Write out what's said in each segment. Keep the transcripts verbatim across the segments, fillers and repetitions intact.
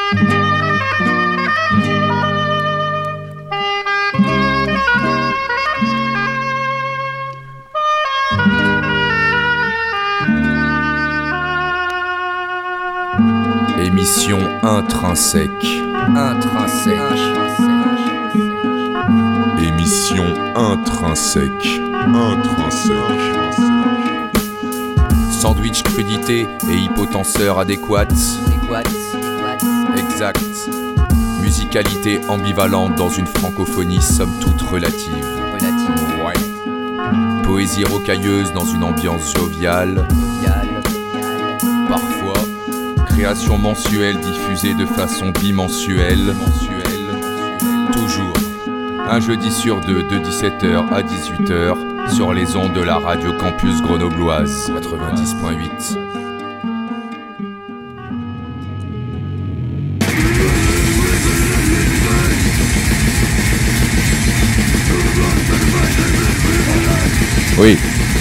Émission intrinsèque. Intrinsèque. Émission intrinsèque. Intrinsèque. Sandwich crudité et hypotenseur adéquate. Exact. Musicalité ambivalente dans une francophonie somme toute relative. Relative. Ouais. Poésie rocailleuse dans une ambiance joviale. Parfois. Création mensuelle diffusée de façon bimensuelle. Mensuelle. Toujours. Un jeudi sur deux de dix-sept heures à dix-huit heures sur les ondes de la radio campus grenobloise quatre-vingt-dix virgule huit. Oui.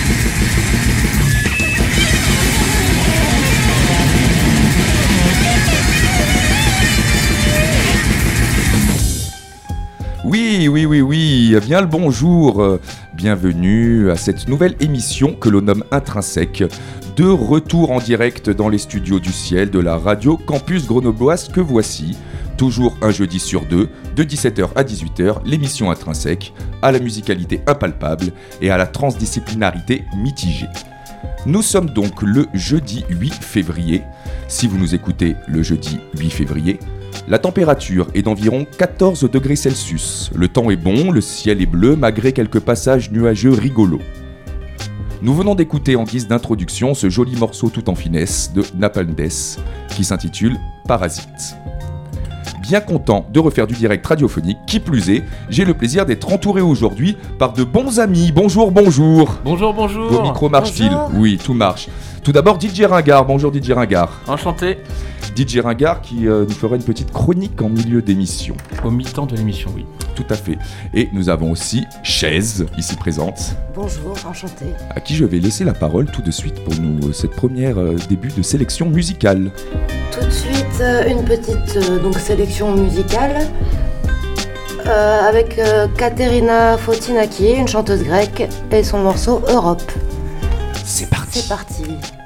Oui, oui, oui, oui, bien le bonjour, bienvenue à cette nouvelle émission que l'on nomme Intrinsèque, de retour en direct dans les studios du ciel de la radio campus grenobloise que voici, toujours un jeudi sur deux, de dix-sept heures à dix-huit heures, l'émission Intrinsèque, à la musicalité impalpable et à la transdisciplinarité mitigée. Nous sommes donc le jeudi huit février, si vous nous écoutez le jeudi huit février, la température est d'environ quatorze degrés Celsius. Le temps est bon, le ciel est bleu malgré quelques passages nuageux rigolos. Nous venons d'écouter en guise d'introduction ce joli morceau tout en finesse de Napalm Death qui s'intitule Parasite. Bien content de refaire du direct radiophonique, qui plus est, j'ai le plaisir d'être entouré aujourd'hui par de bons amis. Bonjour, bonjour. Bonjour, bonjour. Vos micros marchent-ils ? Oui, tout marche. Tout d'abord, D J Ringard. Bonjour D J Ringard. Enchanté. D J Ringard qui euh, nous fera une petite chronique en milieu d'émission. Au mi-temps de l'émission, oui. Tout à fait. Et nous avons aussi Chaise, ici présente. Bonjour, enchanté. À qui je vais laisser la parole tout de suite pour nous, cette première euh, début de sélection musicale. Tout de suite, euh, une petite euh, donc, sélection musicale euh, avec euh, Katerina Fotinaki, une chanteuse grecque, et son morceau Europe. C'est parti. C'est parti.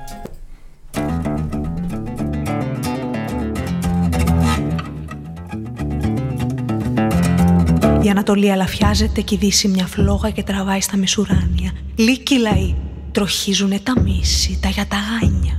Η Ανατολή αλαφιάζεται και η Δύση μια φλόγα και τραβάει στα μεσουράνια. Λύκοι λαοί τροχίζουνε τα μίση, τα γιαταγάνια.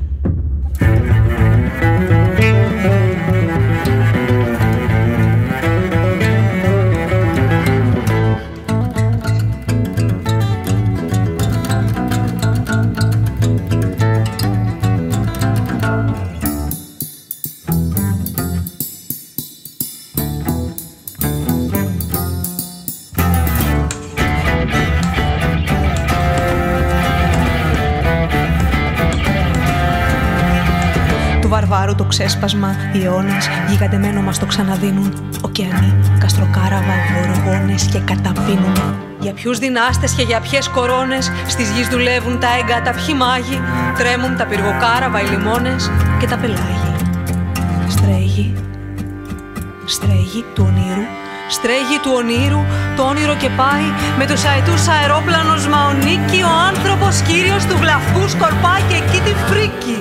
Βαρβάρου το ξέσπασμα, οι αιώνες γιγαντεμένο μας το ξαναδίνουν. Ωκεανοί, καστροκάραβα, γοργόνες και καταπίνουν. Για ποιους δυνάστες και για ποιες κορώνες στις γης δουλεύουν τα έγκατα, ποιοι μάγοι. Τρέμουν τα πυργοκάραβα, οι λιμώνες και τα πελάγι. Στρέγη, στρέγη του ονείρου, στρέγη του ονείρου, το όνειρο και πάει με τους αετούς αερόπλανος μαονίκη. Ο άνθρωπος κύριος του βλαφκού σκορπάει και εκεί τη φρίκη.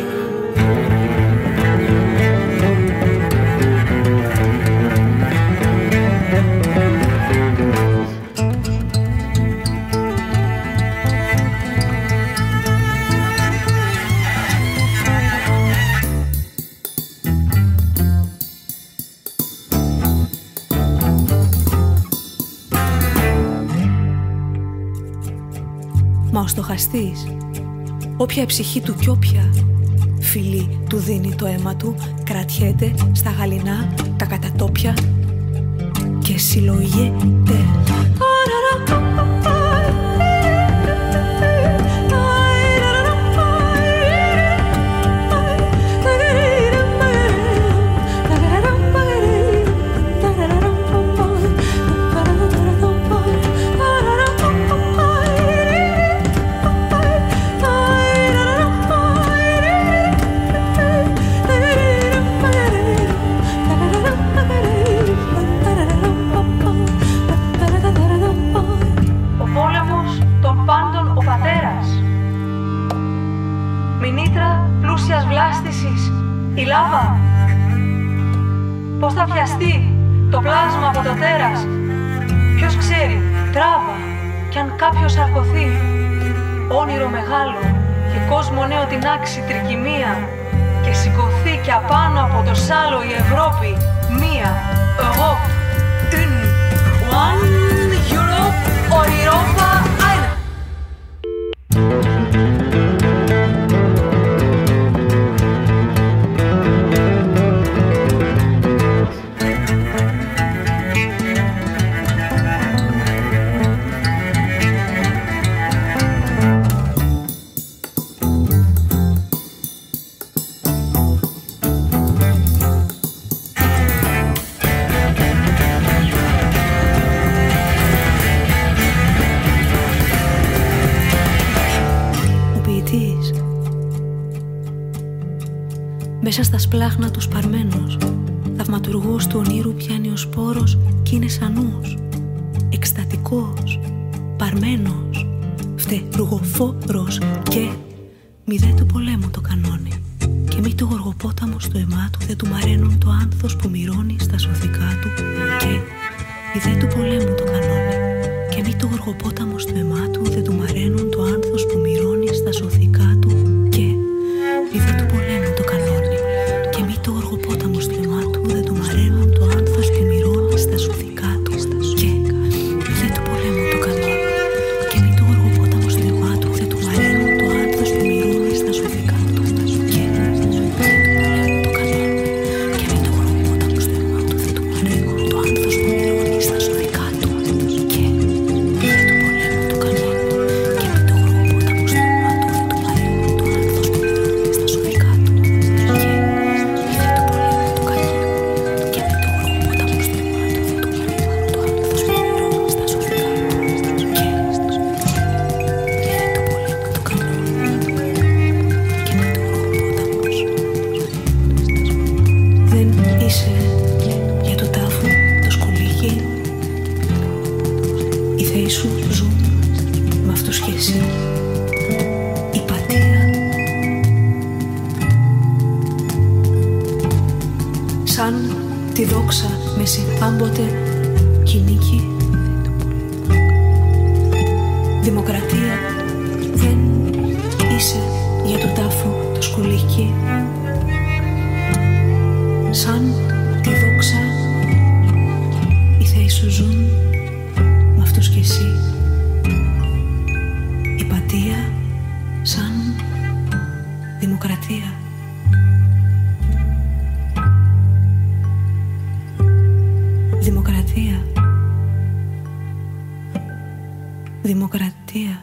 Μα ο στοχαστής, όποια η ψυχή του κι όποια φιλή του δίνει το αίμα του, κρατιέται στα γαλινά τα κατατόπια και συλλογιέται. Πώς θα πιαστεί το πλάσμα από το τέρας? Ποιος ξέρει, τράβα, κι αν κάποιος αρκωθεί. Όνειρο μεγάλο και κόσμο νέο την άξει τρικυμία, και σηκωθεί κι απάνω από το σάλο η Ευρώπη μία. Europe, une, one, Europe, Europa, eine. Μέσα στα σπλάχνα του σπαρμένος, θαυματουργός του ονείρου πιάνει ο σπόρος κι είναι σαν νους. Εκστατικός, παρμένος, φτερουγοφόρος και μηδέ του πολέμου το κανόνι. Και μη το γοργοπόταμο στο αιμά του δεν του μαραίνουν το άνθος που μυρώνει στα σωθικά του. Και μηδέ του πολέμου το κανόνι. Και μη το γοργοπόταμο στο αιμά του δεν του μαραίνουν το άνθος που μυρώνει στα σωθικά του. Και μηδέ του πολέμου το κανόνι. Και μη το οργοπόταμο στο αιμά του δεν του μαραίνουν το άνθος που μυρώνει στα σωθικά του. Και μηδέ του πολέμου το κανόνι. Και μη το οργοπόταμο στο αιμά του δεν του μαραίνουν το άνθος που μυρώνει στα σωθικά του. Και μηδέ του πολέμου το κανόνι. Και μη το οργοπόταμο στο αιμά του δεν του μαραίνουν το άνθος που μυρώνει στα σωθικά του. Και μηδέ του πολέμου το κανόνι. Και μη το οργοπόταμο στο αιμά του δεν του μαραίνουν το άνθος που μυρώνει στα σωθικά του. Τη δόξα μέση άμποτε κυνήγει. Δημοκρατία δεν είσαι για τον τάφο το σκουλίκι. Σαν τη δόξα οι θεοί σου ζουν με αυτούς κι εσύ. Η πατία σαν δημοκρατία. Δημοκρατία. Δημοκρατία.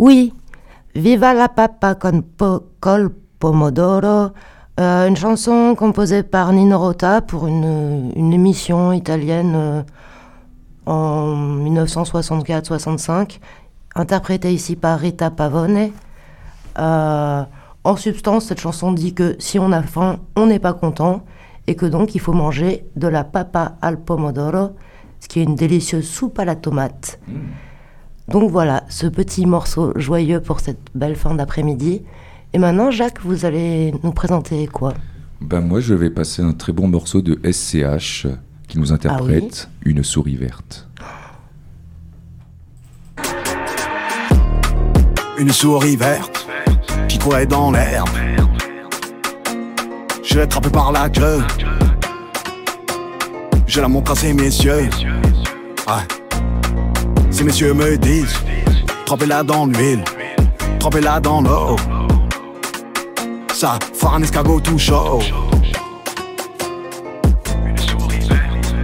Oui, Viva la papa con po- col pomodoro, euh, une chanson composée par Nino Rota pour une, une émission italienne euh, en dix-neuf cent soixante-quatre soixante-cinq, interprétée ici par Rita Pavone. Euh, en substance, cette chanson dit que si on a faim, on n'est pas content, et que donc il faut manger de la papa al pomodoro, ce qui est une délicieuse soupe à la tomate. Mmh. Donc voilà, ce petit morceau joyeux pour cette belle fin d'après-midi. Et maintenant, Jacques, vous allez nous présenter quoi ? Ben moi, je vais passer un très bon morceau de S C H qui nous interprète ah oui Une souris verte. Une souris verte qui courait dans l'herbe. Je l'ai attrapée par la queue. Je la montre à ces messieurs. Ouais. Ces messieurs me disent, trempez-la dans l'huile, trempez-la dans l'eau. Ça fera un escargot tout chaud. Une souris verte.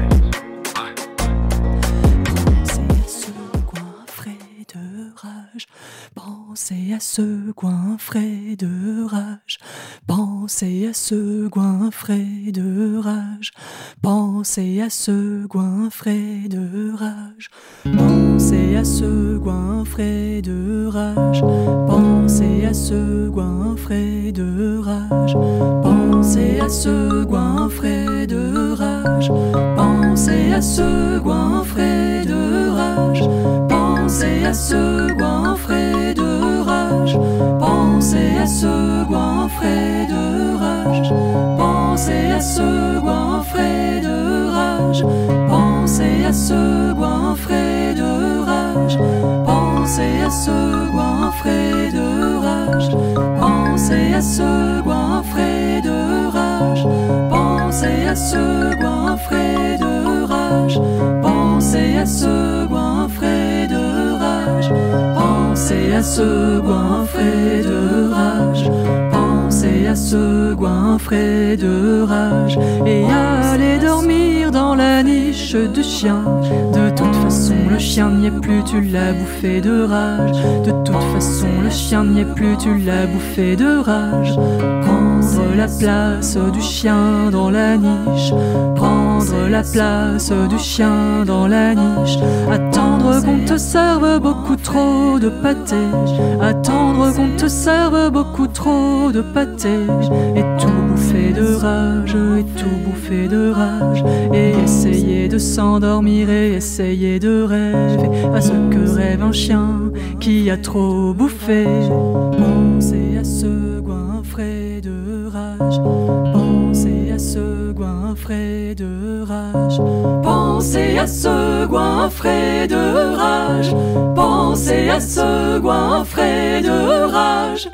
Pensez à ce goinfré de rage. Pensez à ce goinfré de rage. Pensez à ce goinfré de rage. Pensez à ce goinfré de rage. Pensez à ce goinfré de rage. Pensez à ce goinfré de rage. Pensez à ce goinfré de rage. Pensez à ce goinfré de rage. Pensez à ce goinfré de rage. Pensez à ce goinfré de rage. Pensez à ce goinfré de rage. Pensez à ce goinfré de rage. Pensez à ce goinfré de rage. Pensez à ce goinfré de rage. Pensez à ce goinfré de rage. Pensez à ce goinfré de rage. Pensez à ce goinfré de rage. Et allez dormir dans la niche du chien. De toute façon le chien n'y est plus, tu l'as bouffé de rage. De toute façon le chien n'y est plus, tu l'as bouffé de rage. Prendre la place du chien dans la niche. Prendre la place du chien dans la niche. Attendre qu'on te serve beaucoup trop de pâté. Attendre qu'on te serve beaucoup trop de pâté. Et tout bouffer de rage, et tout bouffer de rage. Et essayer de s'endormir et essayer de rêver à ce que rêve un chien qui a trop bouffé. Pensez à ce goinfré de rage. Pensez à ce goinfré de rage. Pensez à ce goinfré de rage. Pensez à ce goinfré de rage.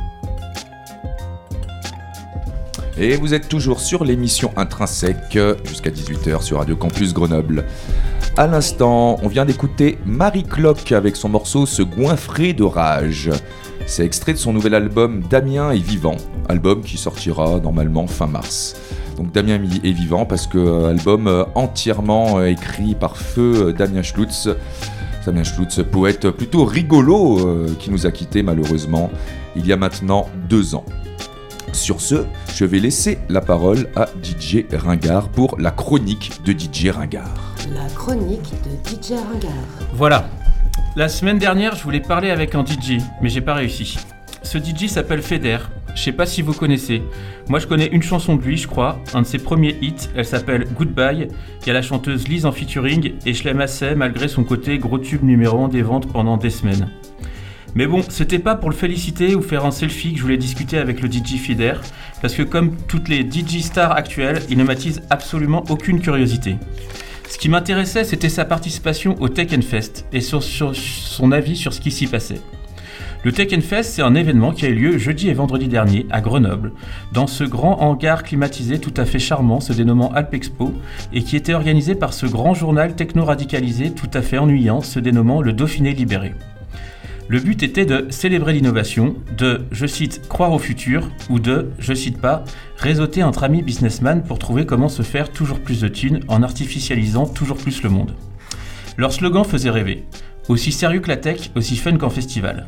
Et vous êtes toujours sur l'émission Intrinsèque jusqu'à dix-huit heures sur Radio Campus Grenoble. À l'instant, on vient d'écouter Marie Cloque avec son morceau Ce goinfré de rage. C'est extrait de son nouvel album Damien est vivant, album qui sortira normalement fin mars. Donc Damien est vivant parce que euh, album entièrement euh, écrit par feu Damien Schlutz. Damien Schlutz, poète plutôt rigolo euh, qui nous a quittés malheureusement il y a maintenant deux ans. Sur ce, je vais laisser la parole à D J Ringard pour la chronique de D J Ringard. La chronique de D J Ringard. Voilà. La semaine dernière, je voulais parler avec un D J, mais j'ai pas réussi. Ce D J s'appelle Feder. Je sais pas si vous connaissez. Moi, je connais une chanson de lui, je crois. Un de ses premiers hits. Elle s'appelle Goodbye. Il y a la chanteuse Lise en featuring et je l'aime assez malgré son côté gros tube numéro un des ventes pendant des semaines. Mais bon, c'était pas pour le féliciter ou faire un selfie que je voulais discuter avec le D J Feder, parce que comme toutes les D J stars actuelles, il ne m'attise absolument aucune curiosité. Ce qui m'intéressait, c'était sa participation au Tech and Fest et sur, sur son avis sur ce qui s'y passait. Le Tech and Fest, c'est un événement qui a eu lieu jeudi et vendredi dernier à Grenoble, dans ce grand hangar climatisé tout à fait charmant se dénommant Alpexpo, et qui était organisé par ce grand journal techno-radicalisé tout à fait ennuyant se dénommant Le Dauphiné Libéré. Le but était de célébrer l'innovation, de, je cite, croire au futur, ou de, je cite pas, réseauter entre amis businessman pour trouver comment se faire toujours plus de thunes en artificialisant toujours plus le monde. Leur slogan faisait rêver. Aussi sérieux que la tech, aussi fun qu'en festival.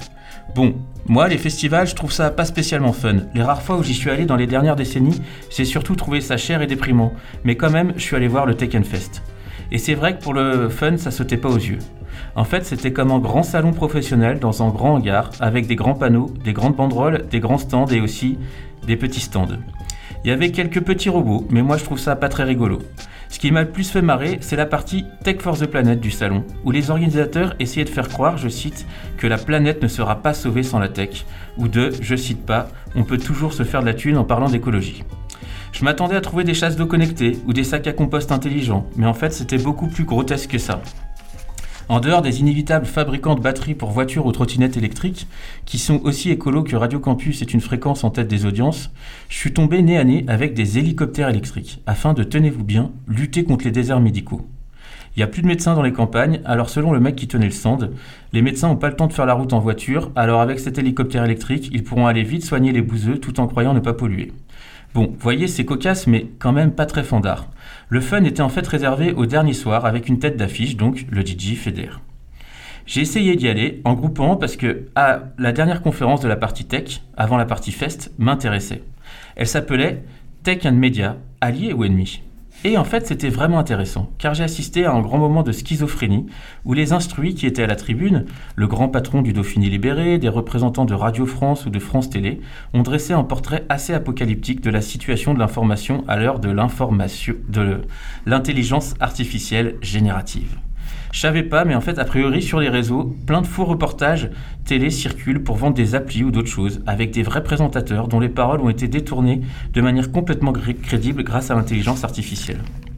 Bon, moi, les festivals, je trouve ça pas spécialement fun. Les rares fois où j'y suis allé dans les dernières décennies, j'ai surtout trouvé ça cher et déprimant. Mais quand même, je suis allé voir le Tekkenfest. Et c'est vrai que pour le fun, ça sautait pas aux yeux. En fait, c'était comme un grand salon professionnel dans un grand hangar, avec des grands panneaux, des grandes banderoles, des grands stands et aussi des petits stands. Il y avait quelques petits robots, mais moi je trouve ça pas très rigolo. Ce qui m'a le plus fait marrer, c'est la partie Tech for the Planet du salon, où les organisateurs essayaient de faire croire, je cite, que la planète ne sera pas sauvée sans la tech, ou de, je cite pas, on peut toujours se faire de la thune en parlant d'écologie. Je m'attendais à trouver des chasses d'eau connectées ou des sacs à compost intelligents, mais en fait c'était beaucoup plus grotesque que ça. En dehors des inévitables fabricants de batteries pour voitures ou trottinettes électriques, qui sont aussi écolos que Radio Campus est une fréquence en tête des audiences, je suis tombé nez à nez avec des hélicoptères électriques, afin de, tenez-vous bien, lutter contre les déserts médicaux. Il n'y a plus de médecins dans les campagnes, alors selon le mec qui tenait le stand, les médecins n'ont pas le temps de faire la route en voiture, alors avec cet hélicoptère électrique, ils pourront aller vite soigner les bouseux tout en croyant ne pas polluer. Bon, voyez, c'est cocasse, mais quand même pas très fandard. Le fun était en fait réservé au dernier soir avec une tête d'affiche, donc le D J Feder. J'ai essayé d'y aller en groupant parce que ah, la dernière conférence de la partie tech, avant la partie fest, m'intéressait. Elle s'appelait Tech and Media, alliés ou ennemis ? Et en fait, c'était vraiment intéressant, car j'ai assisté à un grand moment de schizophrénie où les instruits qui étaient à la tribune, le grand patron du Dauphiné libéré, des représentants de Radio France ou de France Télé, ont dressé un portrait assez apocalyptique de la situation de l'information à l'heure de l'information, de l'intelligence artificielle générative. Je savais pas, mais en fait, a priori, sur les réseaux, plein de faux reportages télé circulent pour vendre des applis ou d'autres choses, avec des vrais présentateurs dont les paroles ont été détournées de manière complètement gr- crédible grâce à l'intelligence artificielle.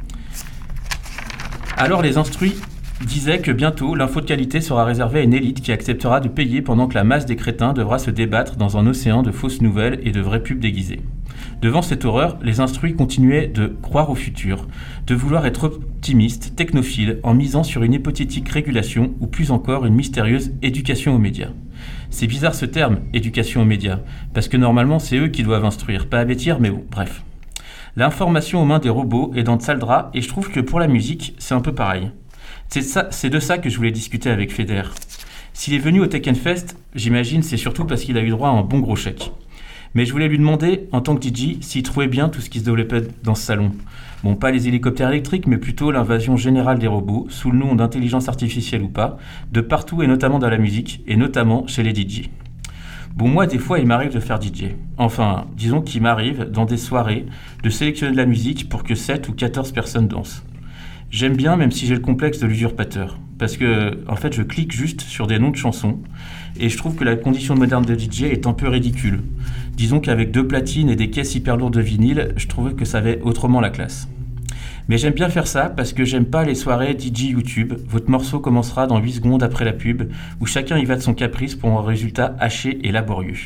Alors les instruits disaient que bientôt, l'info de qualité sera réservée à une élite qui acceptera de payer pendant que la masse des crétins devra se débattre dans un océan de fausses nouvelles et de vraies pubs déguisées. Devant cette horreur, les instruits continuaient de croire au futur, de vouloir être optimistes, technophiles, en misant sur une hypothétique régulation ou plus encore une mystérieuse éducation aux médias. C'est bizarre ce terme, éducation aux médias, parce que normalement c'est eux qui doivent instruire, pas avertir, mais bon, bref. L'information aux mains des robots est dans de sales draps et je trouve que pour la musique, c'est un peu pareil. C'est, ça, c'est de ça que je voulais discuter avec Feder. S'il est venu au Tekkenfest, j'imagine c'est surtout parce qu'il a eu droit à un bon gros chèque. Mais je voulais lui demander, en tant que D J, s'il trouvait bien tout ce qui se développait dans ce salon. Bon, pas les hélicoptères électriques, mais plutôt l'invasion générale des robots, sous le nom d'intelligence artificielle ou pas, de partout et notamment dans la musique, et notamment chez les D J. Bon, moi, des fois, il m'arrive de faire D J. Enfin, disons qu'il m'arrive, dans des soirées, de sélectionner de la musique pour que sept ou quatorze personnes dansent. J'aime bien, même si j'ai le complexe de l'usurpateur. Parce que, en fait, je clique juste sur des noms de chansons, et je trouve que la condition moderne de D J est un peu ridicule. Disons qu'avec deux platines et des caisses hyper lourdes de vinyle, je trouvais que ça avait autrement la classe. Mais j'aime bien faire ça parce que j'aime pas les soirées D J YouTube. Votre morceau commencera dans huit secondes après la pub, où chacun y va de son caprice pour un résultat haché et laborieux.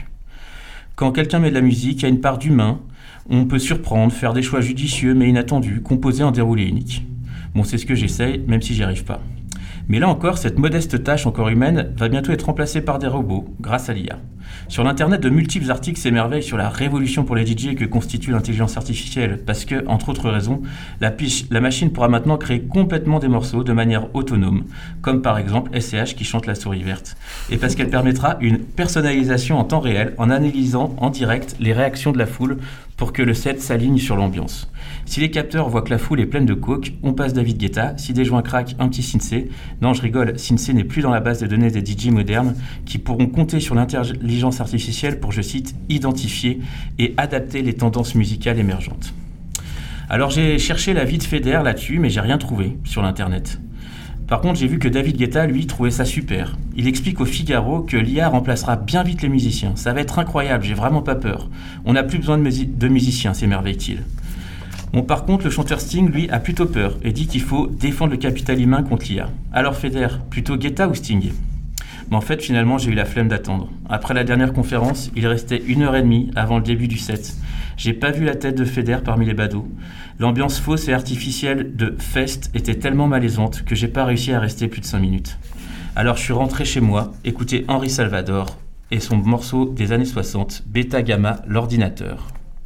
Quand quelqu'un met de la musique, il y a une part d'humain, on peut surprendre, faire des choix judicieux mais inattendus, composer en déroulé unique. Bon, c'est ce que j'essaye, même si j'y arrive pas. Mais là encore, cette modeste tâche encore humaine va bientôt être remplacée par des robots, grâce à l'I A. Sur l'internet, de multiples articles s'émerveillent sur la révolution pour les D J que constitue l'intelligence artificielle, parce que, entre autres raisons, la, piche, la machine pourra maintenant créer complètement des morceaux de manière autonome, comme par exemple S C H qui chante La souris verte, et parce qu'elle permettra une personnalisation en temps réel en analysant en direct les réactions de la foule pour que le set s'aligne sur l'ambiance. Si les capteurs voient que la foule est pleine de coke, on passe David Guetta. Si des joints craquent, un petit Synthé. Non, je rigole, Synthé n'est plus dans la base de données des D J modernes qui pourront compter sur l'intelligence artificielle pour, je cite, identifier et adapter les tendances musicales émergentes. Alors j'ai cherché l'avis de Feder là-dessus, mais j'ai rien trouvé sur l'internet. Par contre, j'ai vu que David Guetta, lui, trouvait ça super. Il explique au Figaro que l'I A remplacera bien vite les musiciens. Ça va être incroyable, j'ai vraiment pas peur. On n'a plus besoin de, musi- de musiciens, s'émerveille-t-il. Bon, par contre, le chanteur Sting, lui, a plutôt peur et dit qu'il faut défendre le capital humain contre l'I A. Alors Feder, plutôt Guetta ou Sting ? Mais en fait, finalement, j'ai eu la flemme d'attendre. Après la dernière conférence, il restait une heure et demie avant le début du set. J'ai pas vu la tête de Feder parmi les badauds. L'ambiance fausse et artificielle de Fest était tellement malaisante que j'ai pas réussi à rester plus de cinq minutes. Alors je suis rentré chez moi, écouter Henri Salvador et son morceau des années soixante, Beta Gamma, l'ordinateur.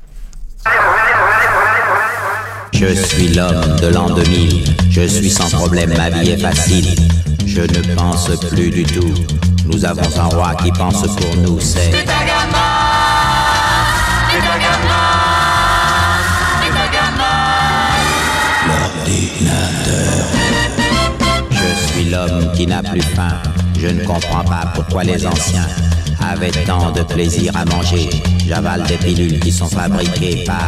Je suis l'homme de l'an deux mille, je suis sans problème, ma vie est facile. Je ne pense plus du tout Nous avons un roi qui pense pour nous, c'est l'ordinateur. Je suis l'homme qui n'a plus faim. Je ne comprends pas pourquoi les anciens avaient tant de plaisir à manger. J'avale des pilules qui sont fabriquées par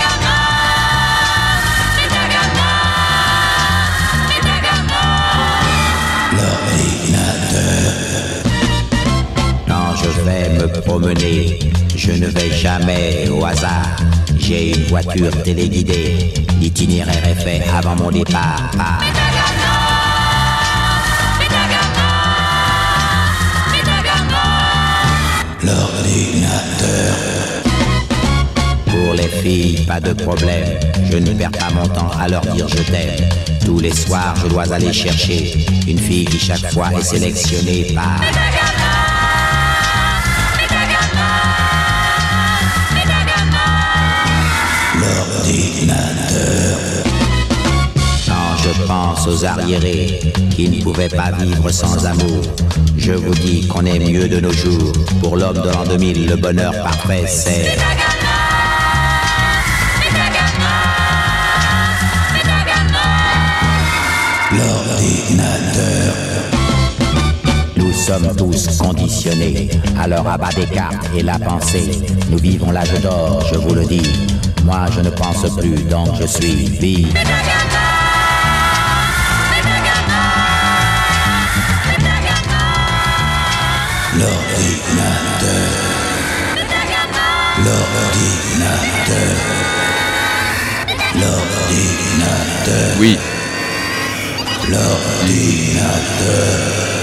l'ordinateur. Quand je vais me promener, je ne vais jamais au hasard. J'ai une voiture téléguidée. L'itinéraire est fait avant mon départ par l'ordinateur. Pour les filles, pas de problème. Je ne perds pas mon temps à leur dire je t'aime. Tous les soirs, je dois aller chercher une fille qui chaque fois est sélectionnée par l'ordinateur. Quand je pense aux arriérés qui ne pouvaient pas vivre sans amour, je vous dis qu'on est mieux de nos jours. Pour l'homme de l'an deux mille, le bonheur parfait, c'est l'ordinateur. Nous sommes tous conditionnés à leur abat des cartes et la pensée. Nous vivons l'âge d'or, je vous le dis. Moi je ne pense plus, donc je suis vide. L'ordinateur. L'ordinateur. L'ordinateur. Oui. L'ordinateur.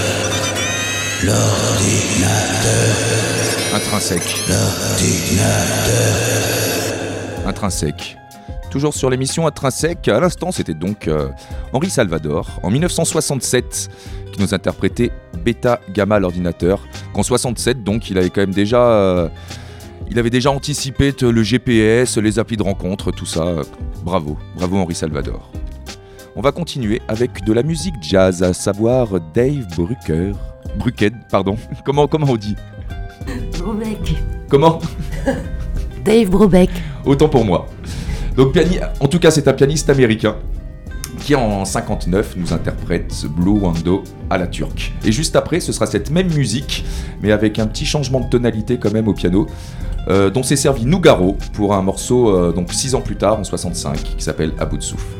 L'ordinateur. Intrinsèque. L'ordinateur. Intrinsèque. Toujours sur l'émission Intrinsèque, à l'instant c'était donc euh, Henri Salvador, en dix-neuf cent soixante-sept, qui nous interprétait Beta Gamma l'ordinateur. Qu'en soixante-sept donc, il avait quand même déjà... Euh, il avait déjà anticipé le G P S, les applis de rencontre, tout ça. Bravo, bravo Henri Salvador. On va continuer avec de la musique jazz, à savoir Dave Brucker. Bruckhead, pardon. Comment, comment on dit ? Brubeck. Comment ? Dave Brubeck. Autant pour moi. Donc, piani- en tout cas, c'est un pianiste américain qui, en cinquante-neuf, nous interprète Blue Wando à la turque. Et juste après, ce sera cette même musique, mais avec un petit changement de tonalité quand même au piano, euh, dont s'est servi Nougaro pour un morceau, euh, donc six ans plus tard, en soixante-cinq, qui s'appelle À bout de souffle.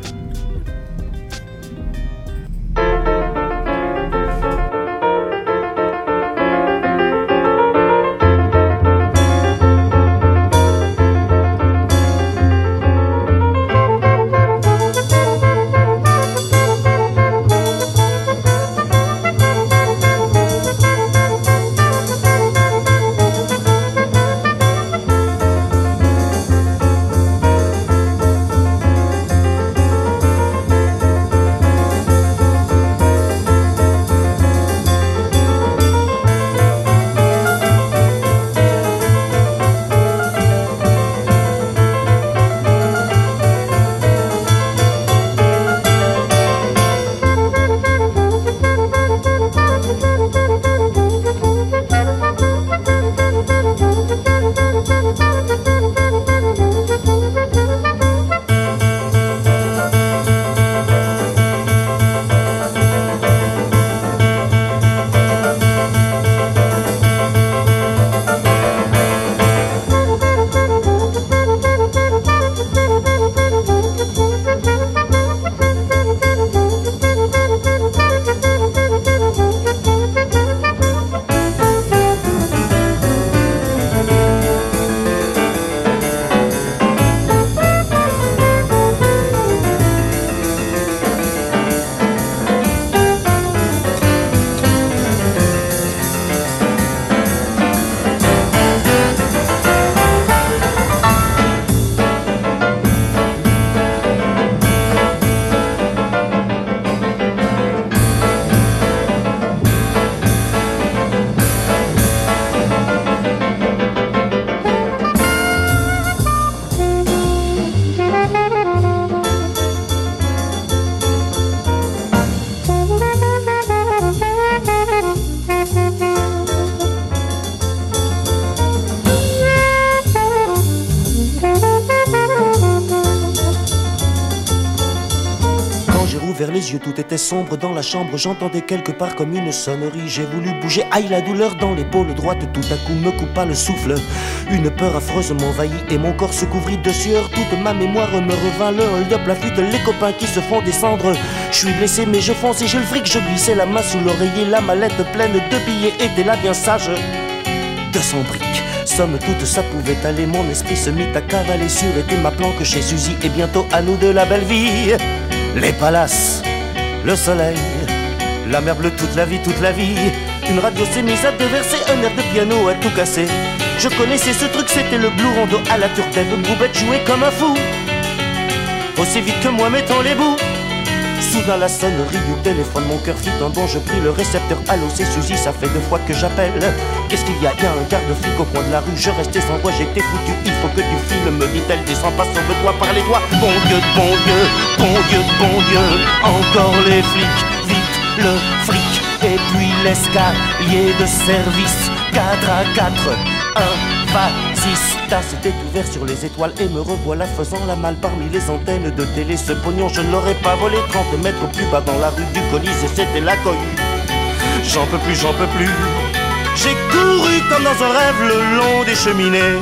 ouvert les yeux, tout était sombre dans la chambre. J'entendais quelque part comme une sonnerie. J'ai voulu bouger, aïe la douleur dans l'épaule droite. Tout à coup me coupa le souffle. Une peur affreuse m'envahit et mon corps se couvrit de sueur. Toute ma mémoire me revint, le hold-up, la fuite, les copains qui se font descendre. Je suis blessé mais je fonce et j'ai le fric. Je glissais la main sous l'oreiller, la mallette pleine de billets était là bien sage. deux cents briques. Somme toute, ça pouvait aller, mon esprit se mit à cavaler sur était ma planque chez Suzy et bientôt à nous de la belle vie. Les palaces, le soleil, la mer bleue toute la vie, toute la vie. Une radio s'est mise à déverser un air de piano à tout casser. Je connaissais ce truc, c'était le blue rondo à la turcaine. Boubette jouait comme un fou, aussi vite que moi mettant les bouts. Soudain la sonnerie du téléphone, mon cœur fit un bond, je pris le récepteur. Allô, c'est Suzy, ça fait deux fois que j'appelle. Qu'est-ce qu'il y a? Y a un garde-flic au coin de la rue, je restais sans voix, j'étais foutu. Il faut que tu files, me dit-elle, descends pas, sauve-toi par les doigts. Bon Dieu, bon Dieu, bon Dieu, bon Dieu, encore les flics, vite le fric. Et puis l'escalier de service, quatre à quatre, un, fascista s'était ouvert sur les étoiles et me revoilà faisant la malle parmi les antennes de télé. Ce pognon je ne l'aurais pas volé, trente mètres plus bas dans la rue du Colisée, c'était la cohue. J'en peux plus, j'en peux plus. J'ai couru comme dans un rêve le long des cheminées.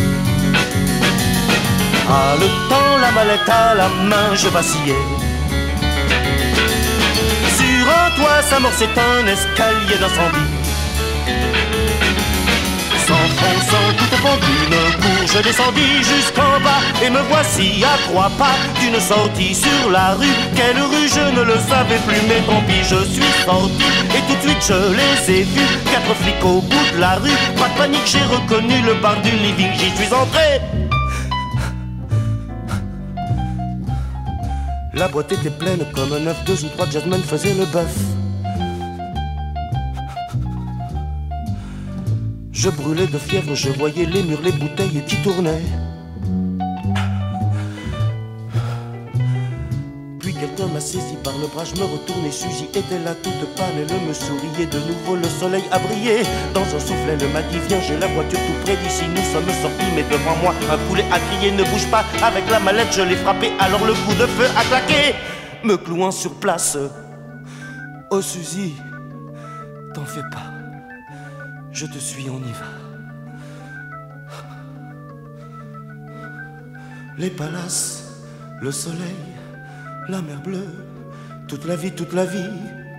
Ah, le temps, la mallette à la main, je vacillais. Sur un toit s'amorçait un escalier d'incendie. S'enfonçant tout au fond d'une cour, je descendis jusqu'en bas et me voici à trois pas d'une sortie sur la rue. Quelle rue, je ne le savais plus, mais tant pis, je suis sorti et tout de suite je les ai vus. Quatre flics au bout de la rue, pas de panique, j'ai reconnu le bar du living, j'y suis entré. La boîte était pleine comme un œuf, deux ou trois jazzmen faisaient le bœuf. Je brûlais de fièvre, je voyais les murs, les bouteilles qui tournaient. Puis quelqu'un m'a saisi par le bras, je me retournais, Suzy était là toute pâle, elle me souriait de nouveau, le soleil a brillé. Dans un souffle, elle m'a dit viens, j'ai la voiture tout près d'ici, nous sommes sortis, mais devant moi, un poulet a crié, ne bouge pas, avec la mallette je l'ai frappé, alors le coup de feu a claqué, me clouant sur place. Oh Suzy, t'en fais pas. Je te suis, on y va. Les palaces, le soleil, la mer bleue, toute la vie, toute la vie,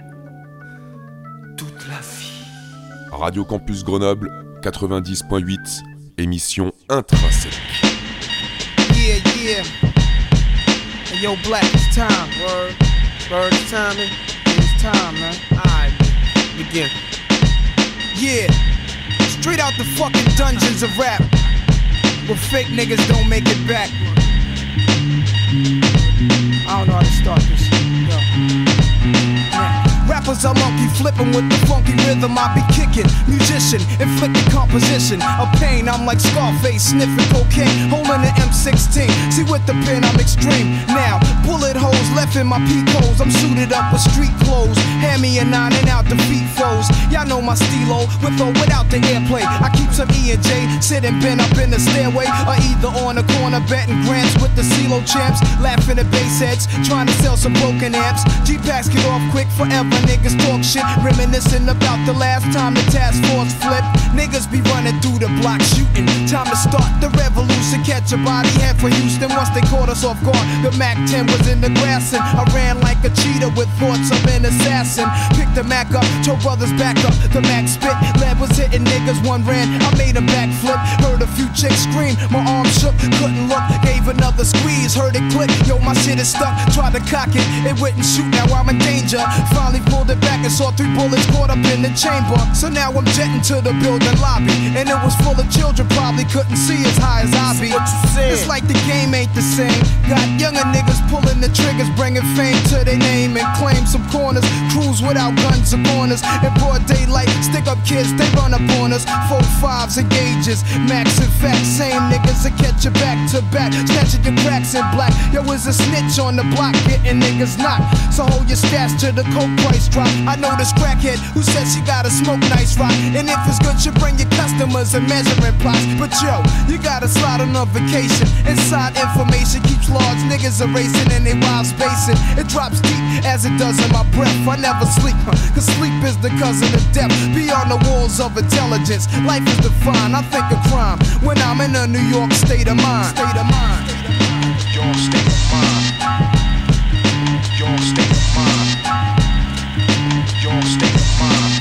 toute la vie. Radio Campus Grenoble, quatre-vingt-dix point huit, émission Intrinsèque. Yeah, yeah. Hey, yo, Black, it's time. Word, word, it's time, man. It's time, man. Alright, begin. Yeah, straight out the fucking dungeons of rap, where fake niggas don't make it back. I don't know how to start this. Yo. Yeah. Rappers are monkey flipping with the funky rhythm I be kicking. Musician, inflicting composition of pain. I'm like Scarface, sniffing cocaine, holding an M sixteen. See with the pen I'm extreme. Now, bullet holes left in my peak holes. I'm suited up with street clothes. Hand me a nine and out the feet foes. Y'all know my stilo, with or without the airplay. I keep some E and J, sitting bent up in the stairway, or either on the corner betting grants with the CeeLo champs. Laughing at bass heads, trying to sell some broken amps. G-Packs get off quick forever. Niggas talk shit, reminiscing about the last time the task force flipped. Niggas be running through the block shooting. Time to start the revolution. Catch a body head for Houston once they caught us off guard. The Mac ten was in the grass and I ran like a cheetah with thoughts of an assassin. Picked the Mac up, told brothers back up. The Mac spit, lead was hitting niggas. One ran, I made a backflip. Heard a few chicks scream, my arm shook, couldn't look. Gave another squeeze, heard it click. Yo, my shit is stuck. Tried to cock it, it wouldn't shoot. Now I'm in danger. Finally pulled it back and saw three bullets caught up in the chamber. So now I'm jetting to the building lobby, and it was full of children, probably couldn't see as high as I be. It's like the game ain't the same. Got younger niggas pulling the triggers, bringing fame to their name and claim some corners. Cruise without guns or corners. In broad daylight, stick up kids, they run up on us. Four fives and gauges, max and facts. Same niggas that catch you back to back, snatching your cracks in black. Yo, is a snitch on the block, getting niggas knocked. So hold your stats to the coke price drop. I know this crackhead who says she gotta smoke nice rock, and if it's good, you bring your customers and measuring plots. But yo, you gotta slide on a vacation. Inside information keeps large niggas erasing pacing and they wild spacing. It drops deep as it does in my breath. I never sleep, huh? Cause sleep is the cousin of death. Beyond the walls of intelligence, life is defined. I think of crime when I'm in a New York state of mind. State of mind. Your state of mind. Your state of mind. Your state of mind.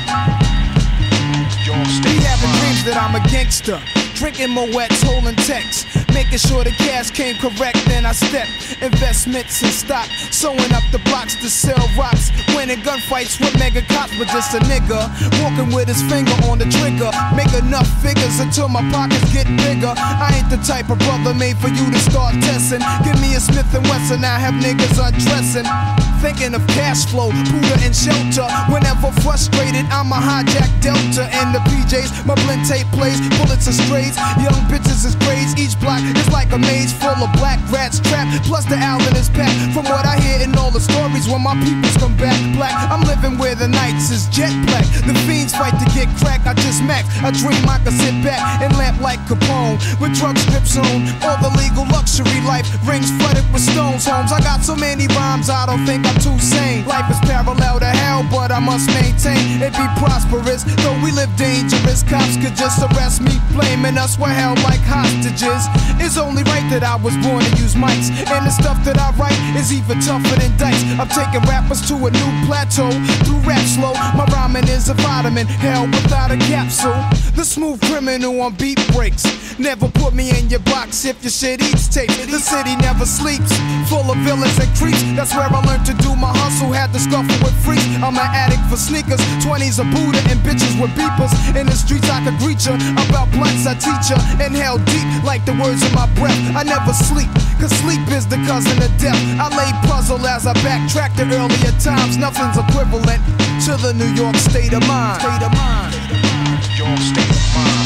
Your state of mind. Be having dreams that I'm a gangster. Drinking Moet's, holding texts, making sure the cash came correct. Then I step investments in stock, sewing up the blocks to sell rocks, winning gunfights with mega cops. But just a nigga walking with his finger on the trigger, make enough figures until my pockets get bigger. I ain't the type of brother made for you to start testing. Give me a Smith and Wesson, I have niggas undressing. Thinking of cash flow, Buddha and shelter. Whenever frustrated, I'm a hijack Delta and the P Js. My blend tape plays, bullets are strays. Young bitches is grades. Each block is like a maze full of black rats trapped. Plus the Allen is packed. From what I hear in all the stories, when my peoples come back black, I'm living where the nights is jet black. The fiends fight to get crack. I just max. I dream I can sit back and lamp like Capone with drug strips on. All the legal luxury life rings flooded with stones. Homes. I got so many rhymes, I don't think I'm too sane. Life is parallel to hell, but I must maintain it be prosperous. Though we live dangerous, cops could just arrest me, blaming us were held like hostages. It's only right that I was born to use mics, and the stuff that I write is even tougher than dice. I'm taking rappers to a new plateau through rap slow. My rhyming is a vitamin, hell without a capsule. The smooth criminal on beat breaks. Never put me in your box if your shit eats tape. The city never sleeps, full of villains and creeps. That's where I learned to do my hustle, had to scuffle with freaks. I'm an addict for sneakers, twenties a Buddha and bitches with beepers. In the streets I could greet ya, about blunts I teach ya. Inhale deep like the words in my breath. I never sleep, cause sleep is the cousin of death. I lay puzzle as I backtrack to earlier times. Nothing's equivalent to the New York state of mind. State of mind. Your state of mind.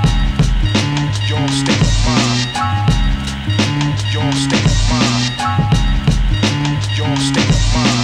Your state of mind. Your state of mind. Your state of mind.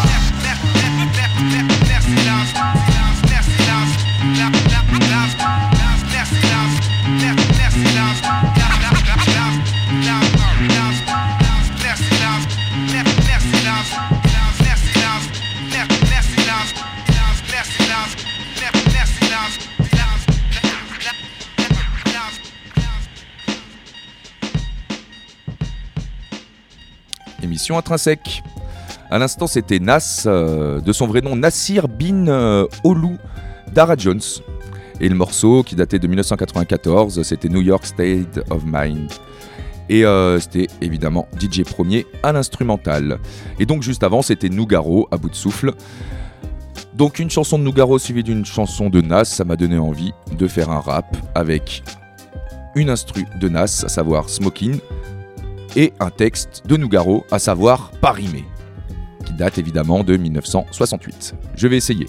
Émission Intrinsèque. À l'instant, c'était Nas, euh, de son vrai nom Nassir bin euh, Olu Dara Jones. Et le morceau, qui datait de dix-neuf cent quatre-vingt-quatorze, c'était New York State of Mind. Et euh, c'était évidemment D J Premier à l'instrumental. Et donc juste avant, c'était Nougaro à bout de souffle. Donc une chanson de Nougaro suivie d'une chanson de Nas, ça m'a donné envie de faire un rap avec une instru de Nas, à savoir Smokin', et un texte de Nougaro, à savoir Pas rimé, qui date évidemment de dix-neuf cent soixante-huit. Je vais essayer.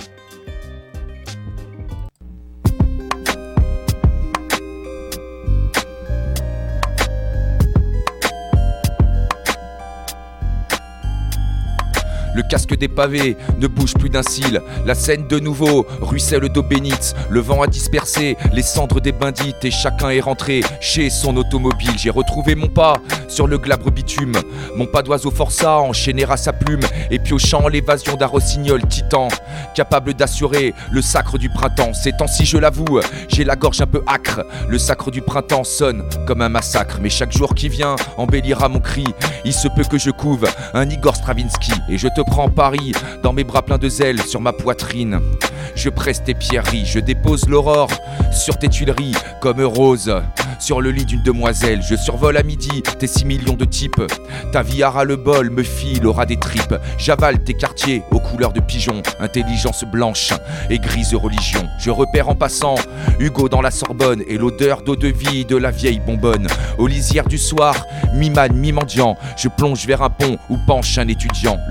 Le casque des pavés ne bouge plus d'un cil. La scène de nouveau ruisselle d'eau bénite. Le vent a dispersé les cendres des bandites et chacun est rentré chez son automobile. J'ai retrouvé mon pas sur le glabre bitume. Mon pas d'oiseau forçat enchaîné à sa plume et piochant l'évasion d'un rossignol titan, capable d'assurer le sacre du printemps. Ces temps-ci, je l'avoue, j'ai la gorge un peu âcre. Le sacre du printemps sonne comme un massacre, mais chaque jour qui vient embellira mon cri. Il se peut que je couve un Igor Stravinsky et je te prends Paris dans mes bras pleins de zèle sur ma poitrine. Je presse tes pierreries, je dépose l'aurore sur tes tuileries comme rose sur le lit d'une demoiselle. Je survole à midi tes six millions de types. Ta vie à ras le bol me file au ras des tripes. J'avale tes quartiers aux couleurs de pigeon, intelligence blanche et grise religion. Je repère en passant Hugo dans la Sorbonne et l'odeur d'eau de vie de la vieille bonbonne. Aux lisières du soir, mi-man, mi-mendiant, je plonge vers un pont où penche un étudiant. Le jeune homme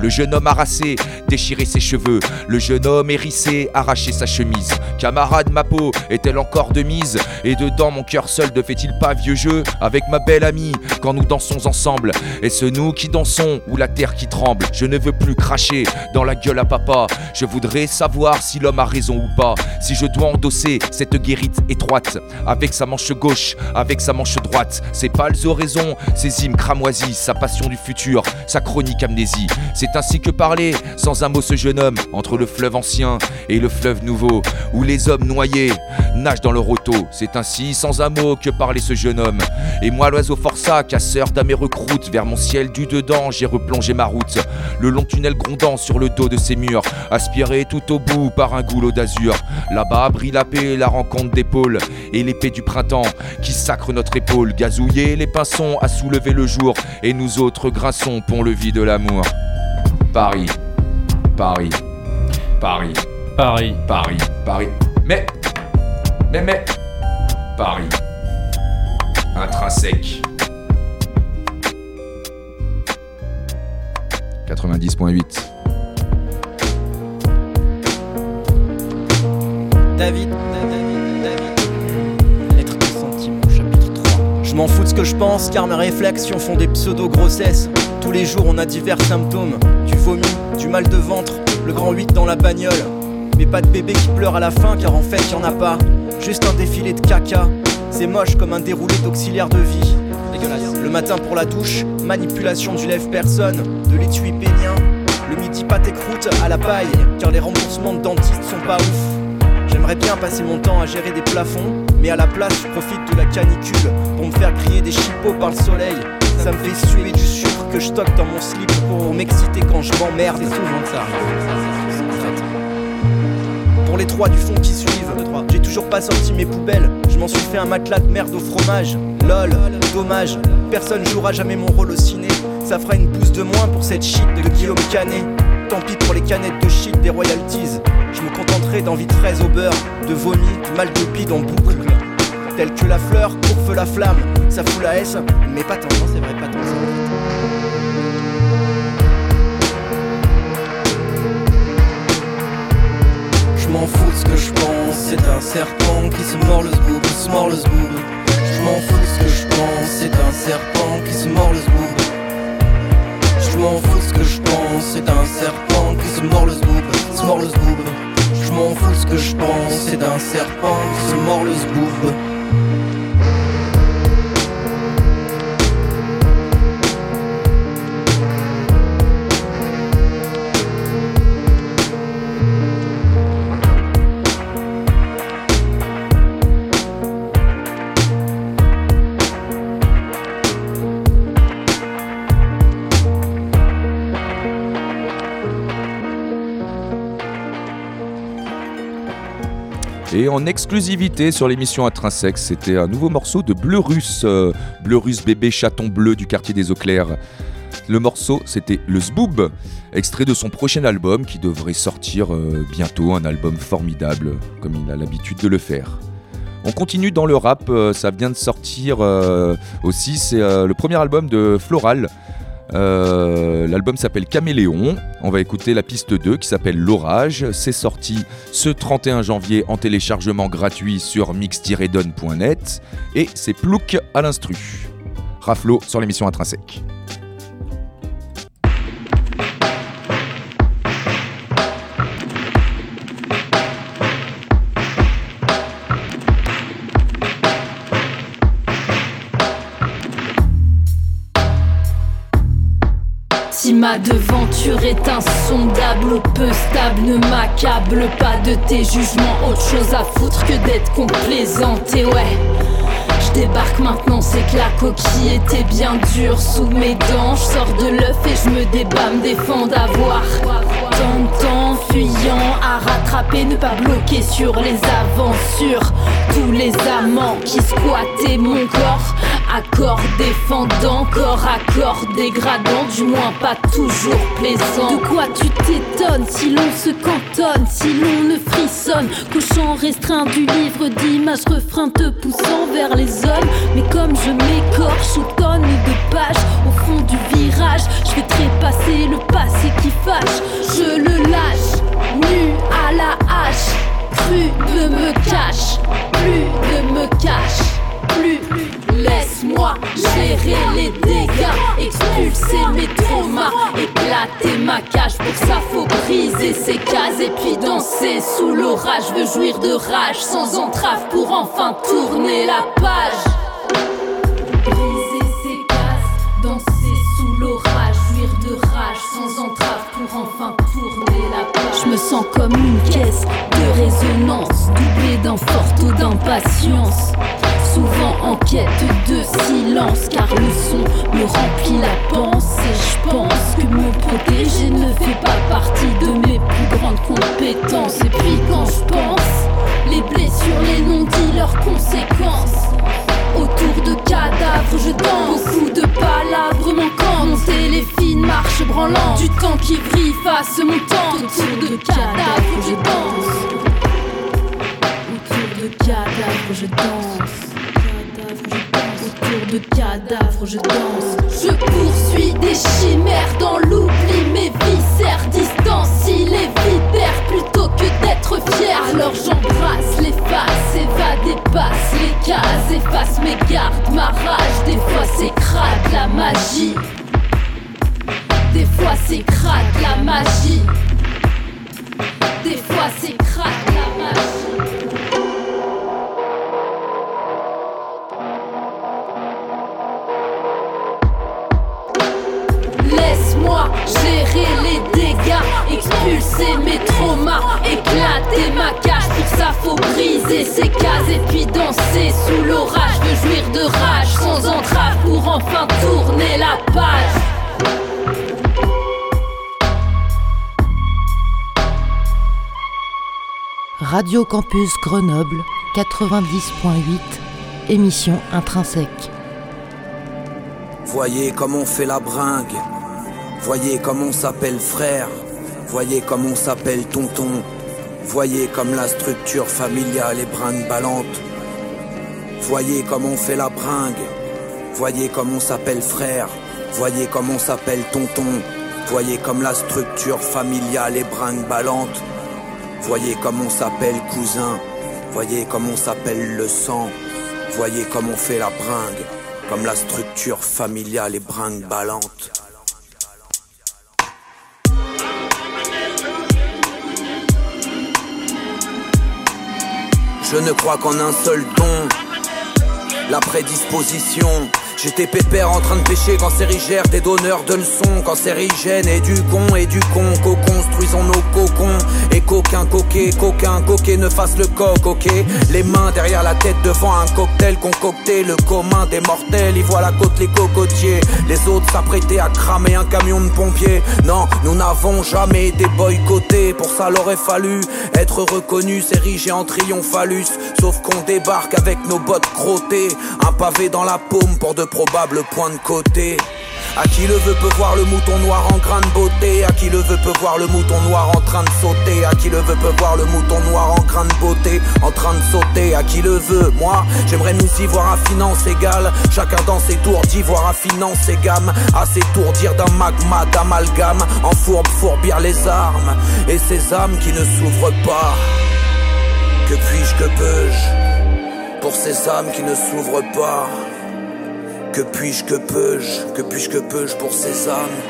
m'embarrasser, déchirer ses cheveux. Le jeune homme hérissé, arracher sa chemise. Camarade, ma peau est-elle encore de mise? Et dedans mon cœur seul ne fait-il pas vieux jeu avec ma belle amie quand nous dansons ensemble? Est-ce nous qui dansons ou la terre qui tremble? Je ne veux plus cracher dans la gueule à papa. Je voudrais savoir si l'homme a raison ou pas. Si je dois endosser cette guérite étroite avec sa manche gauche, avec sa manche droite. Ses pâles oraisons, ses hymnes cramoisis, sa passion du futur, sa chronique amnésie. C'est ainsi que parlait sans un mot ce jeune homme entre le fleuve ancien et le fleuve nouveau, où les hommes noyés nagent dans leur auto. C'est ainsi sans un mot que parlait ce jeune homme. Et moi l'oiseau forçat, casseur d'âmes et recroute, vers mon ciel du dedans j'ai replongé ma route. Le long tunnel grondant sur le dos de ces murs, aspiré tout au bout par un goulot d'azur. Là-bas brille la paix, la rencontre d'épaule et l'épée du printemps qui sacre notre épaule. Gazouiller les pinsons à soulever le jour, et nous autres grinçons pont-levis de l'amour. Paris, Paris, Paris, Paris, Paris, Paris. Mais, mais, mais, Paris, intrinsèque. quatre-vingt-dix point huit. David, David, David, lettre de sentiment, chapitre trois. Je m'en fous de ce que je pense, car mes réflexions font des pseudo-grossesses. Tous les jours on a divers symptômes, du vomi, du mal de ventre, le grand huit dans la bagnole. Mais pas de bébé qui pleure à la fin, car en fait y'en a pas. Juste un défilé de caca, c'est moche comme un déroulé d'auxiliaire de vie. Dégueulasse. Le matin pour la douche, manipulation du lève-personne, de l'étui pénien. Le midi pâté croûte à la paille, car les remboursements de dentistes sont pas ouf. J'aimerais bien passer mon temps à gérer des plafonds, mais à la place je profite de la canicule pour me faire griller des chipots par le soleil. Ça me fait suer du sucre que je stocke dans mon slip pour m'exciter quand je m'emmerde. C'est souvent ça. Pour les trois du fond qui suivent, j'ai toujours pas sorti mes poubelles. Je m'en suis fait un matelas de merde au fromage. Lol, dommage, personne jouera jamais mon rôle au ciné. Ça fera une pousse de moins pour cette shit de Guillaume Canet. Tant pis pour les canettes de shit des royalties. Je me contenterai d'envie de fraises au beurre, de vomi, mal de bide en boucle. Telle que la fleur, pour feu la flamme, ça fout la S, mais pas tant, c'est vrai, pas tant. Je m'en fous de ce que je pense, c'est un serpent qui se mord le zboob, se mord le zboob. Je m'en fous de ce que je pense, c'est un serpent qui se mord le zboob. Je m'en fous de ce que je pense, c'est un serpent qui se mord le zboob, se mord le zboob. Je m'en fous de ce que je pense, c'est un serpent qui se mord le zboob. Et en exclusivité sur l'émission Intrinsèque, c'était un nouveau morceau de Bleu Russe, euh, Bleu Russe bébé chaton bleu du quartier des Eaux Claires. Le morceau, c'était Le Zboob, extrait de son prochain album qui devrait sortir euh, bientôt, un album formidable, comme il a l'habitude de le faire. On continue dans le rap, euh, ça vient de sortir euh, aussi, c'est euh, le premier album de Floral. Euh, l'album s'appelle Caméléon. On va écouter la piste deux qui s'appelle L'Orage. C'est sorti ce trente et un janvier en téléchargement gratuit sur mix tiret don point net. Et c'est Plouc à l'instru. Raflo sur l'émission Intrinsèque. Si ma devanture est insondable ou peu stable, ne m'accable pas de tes jugements. Autre chose à foutre que d'être complaisante. Et ouais, je débarque maintenant, c'est que la coquille était bien dure sous mes dents. Je sors de l'œuf et je me débat, me défends d'avoir tant de temps fuyant à rattraper, ne pas bloquer sur les aventures. Tous les amants qui squattaient mon corps Accord défendant, corps à corps dégradant, du moins pas toujours plaisant. De quoi tu t'étonnes si l'on se cantonne, si l'on ne frissonne qu'au champ restreint du livre d'images, refrain te poussant vers les hommes. Mais comme je m'écorche aux tonnes de pages au fond du virage, je vais trépasser le passé qui fâche. Je le lâche, nu à la hache. Plus ne me cache, plus ne me cache, plus. Laisse-moi gérer les dégâts, expulser mes traumas, éclater ma cage. Pour ça faut briser ces cases et puis danser sous l'orage. Je veux jouir de rage sans entrave pour enfin tourner la page. Briser ces cases, danser sous l'orage, jouir de rage sans entrave pour enfin tourner la page. Je me sens comme une caisse de résonance, doublée d'un fort taux d'impatience. Souvent en quête de silence, car le son me remplit la pensée. Je pense que me protéger ne fait pas partie de mes plus grandes compétences. Et puis quand je pense, les blessures, les non-dits, leurs conséquences. Autour de cadavres je danse, beaucoup de palabres manquant. Monter les fines marches branlantes, du temps qui brille face mon temps. Autour de cadavres je danse, autour de cadavres je danse. Autour de cadavres je danse. Je poursuis des chimères dans l'oubli. Mes viscères distancient les vipères plutôt que d'être fier. Alors j'embrasse les faces, évade, dépasse les cases, efface mes gardes, ma rage. Des fois c'est crade la magie, des fois c'est crade la magie, des fois c'est crade la magie. Laisse-moi gérer les dégâts, expulser mes traumas, éclater ma cage. Pour ça faut briser ces cases et puis danser sous l'orage. Je veux jouir de rage sans entrave pour enfin tourner la page. Radio Campus Grenoble quatre-vingt-dix point huit, émission Intrinsèque. Voyez comme on fait la bringue, voyez comme on s'appelle frère, voyez comme on s'appelle tonton, voyez comme la structure familiale est brinque-ballante. Voyez comme on fait la bringue, voyez comme on s'appelle frère, voyez comme on s'appelle tonton, voyez comme la structure familiale est brinque-ballante. Voyez comme on s'appelle cousin, voyez comme on s'appelle le sang, voyez comme on fait la bringue. Comme la structure familiale est brinque-ballante. Je ne crois qu'en un seul don, la prédisposition. J'étais pépère en train de pêcher quand Sérigère des donneurs de leçons. Quand Sérigène et du con et du con, co-construisons nos cocons. Et qu'aucun coquet, qu'aucun coquet ne fasse le coq, ok. Les mains derrière la tête devant un cocktail concocté. Le commun des mortels, y voit la côte les cocotiers. Les autres s'apprêtaient à cramer un camion de pompiers. Non, nous n'avons jamais été boycottés. Pour ça l'aurait fallu être reconnu, s'ériger en triomphalus. Sauf qu'on débarque avec nos bottes crottées, un pavé dans la paume pour de probables points de côté. À qui le veut peut voir le mouton noir en grain de beauté. À qui le veut peut voir le mouton noir en train de sauter. À qui le veut peut voir le mouton noir en grain de beauté, en train de sauter. À qui le veut, moi j'aimerais nous y voir à finance égale. Chacun dans ses tours d'ivoire à finance et gamme. À s'étourdir d'un magma d'amalgame. En fourbe fourbir les armes et ces âmes qui ne s'ouvrent pas. Que puis-je, que peux-je pour ces âmes qui ne s'ouvrent pas? Que puis-je, que peux-je, que puis-je, que peux-je pour ces âmes?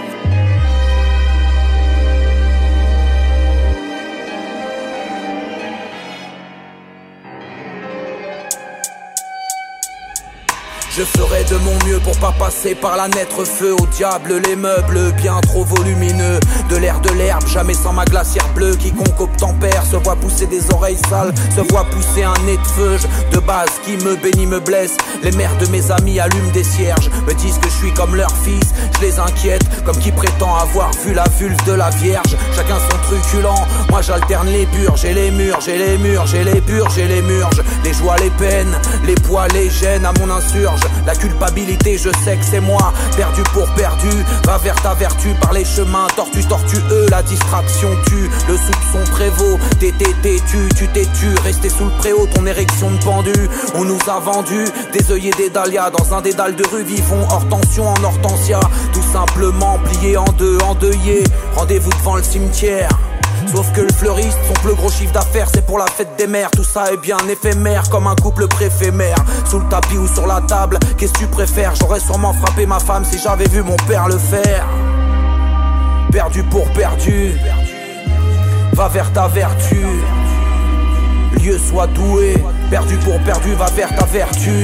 Je ferai de mon mieux pour pas passer par la naître feu. Au diable les meubles bien trop volumineux. De l'air de l'herbe, jamais sans ma glacière bleue. Quiconque obtempère se voit pousser des oreilles sales, se voit pousser un nez de feu. De base qui me bénit me blesse. Les mères de mes amis allument des cierges, me disent que je suis comme leur fils. Je les inquiète comme qui prétend avoir vu la vulve de la vierge. Chacun son truculent, moi j'alterne les burges et les murs. J'ai les murs, j'ai les burges et les murges. Les joies, les peines, les poids, les gènes à mon insurge. La culpabilité, je sais que c'est moi. Perdu pour perdu, va vers ta vertu. Par les chemins tortus, tortueux, la distraction tue. Le soupçon prévaut, t'es t'es têtu, tu t'es tu. Resté sous le préau, ton érection de pendu. On nous a vendu des œillets, des dahlias. Dans un dédale de rue, vivons hors tension en hortensia. Tout simplement plié en deux, endeuillé. Rendez-vous devant le cimetière. Sauf que le fleuriste, son plus gros chiffre d'affaires, c'est pour la fête des mères. Tout ça est bien éphémère, comme un couple préfet-mère. Sous le tapis ou sur la table, qu'est-ce que tu préfères? J'aurais sûrement frappé ma femme si j'avais vu mon père le faire. Perdu pour perdu, va vers ta vertu. Lieu soit doué, perdu pour perdu, va vers ta vertu.